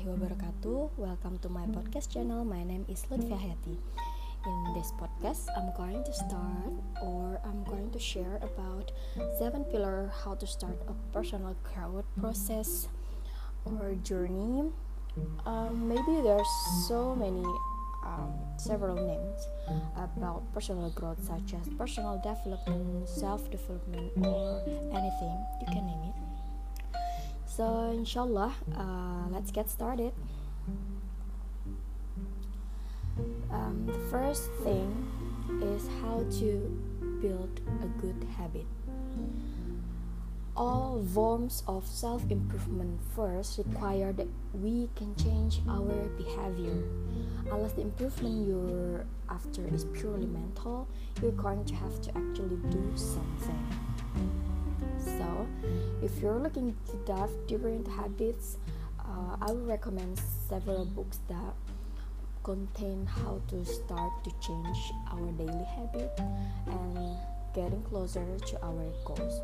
warahmatullahi wabarakatuh. Welcome to my podcast channel. My name is Lutfia Hayati. In this podcast, I'm going to share about 7 pillars how to start a personal growth process or journey. Maybe there's several names about personal growth, such as personal development, self-development, or anything. You can name it. So inshallah, let's get started. The first thing is how to build a good habit. All forms of self-improvement first require that we can change our behavior. Unless the improvement you're after is purely mental, you're going to have to actually do something. So, if you're looking to dive deeper into habits, I will recommend several books that contain how to start to change our daily habit and getting closer to our goals.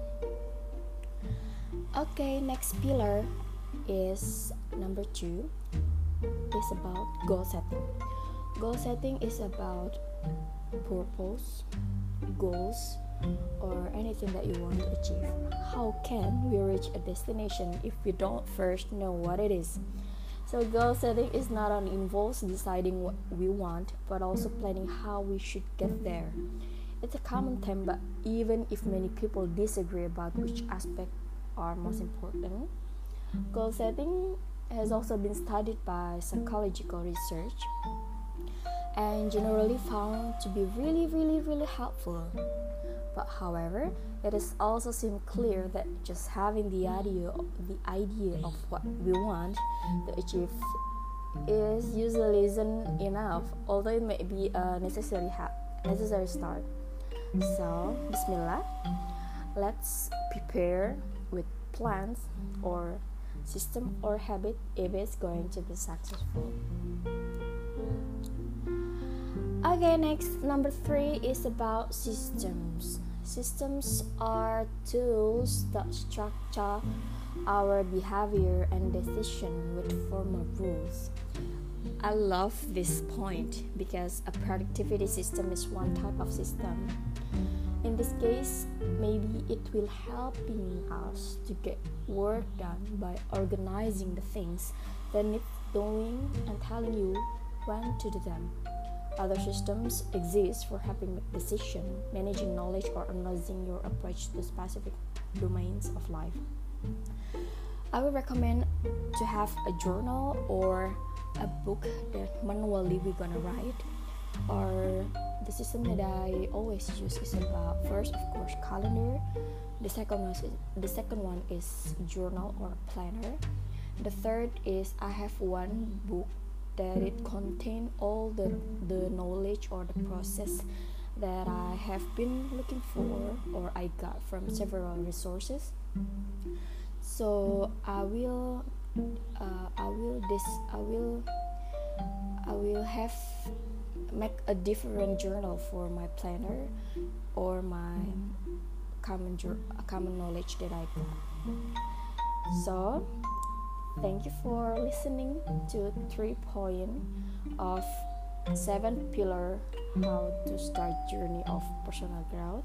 Okay, next pillar is number 2. It's about goal setting. Goal setting is about purpose, goals, or anything that you want to achieve. How can we reach a destination if we don't first know what it is? So goal setting is not only involves deciding what we want, but also planning how we should get there. It's a common theme, but even if many people disagree about which aspect are most important, goal setting has also been studied by psychological research and generally found to be really helpful. But however, it is also seems clear that just having the idea of what we want to achieve is usually isn't enough, although it may be a necessary start. So, Bismillah, let's prepare with plans or system or habit if it's going to be successful. Okay, next, number 3 is about systems. Systems are tools that structure our behavior and decision with formal rules. I love this point because a productivity system is one type of system. In this case, maybe it will helping us to get work done by organizing the things that need doing and telling you when to do them. Other systems exist for helping make decisions, managing knowledge, or analyzing your approach to specific domains of life. I would recommend to have a journal or a book that manually we're gonna write. Or the system that I always use is about, first, of course, calendar. The second one is journal or planner. The third is I have one book that it contain all the knowledge or the process that I have been looking for or I got from several resources. So I will have make a different journal for my planner or my common knowledge that I got. So thank you for listening to 3 points of 7 pillar how to start journey of personal growth.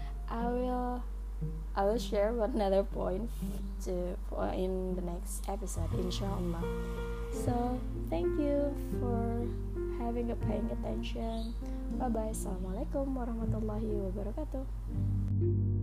I will share another point in the next episode, inshallah. So thank you for paying attention. Bye bye. Assalamualaikum warahmatullahi wabarakatuh.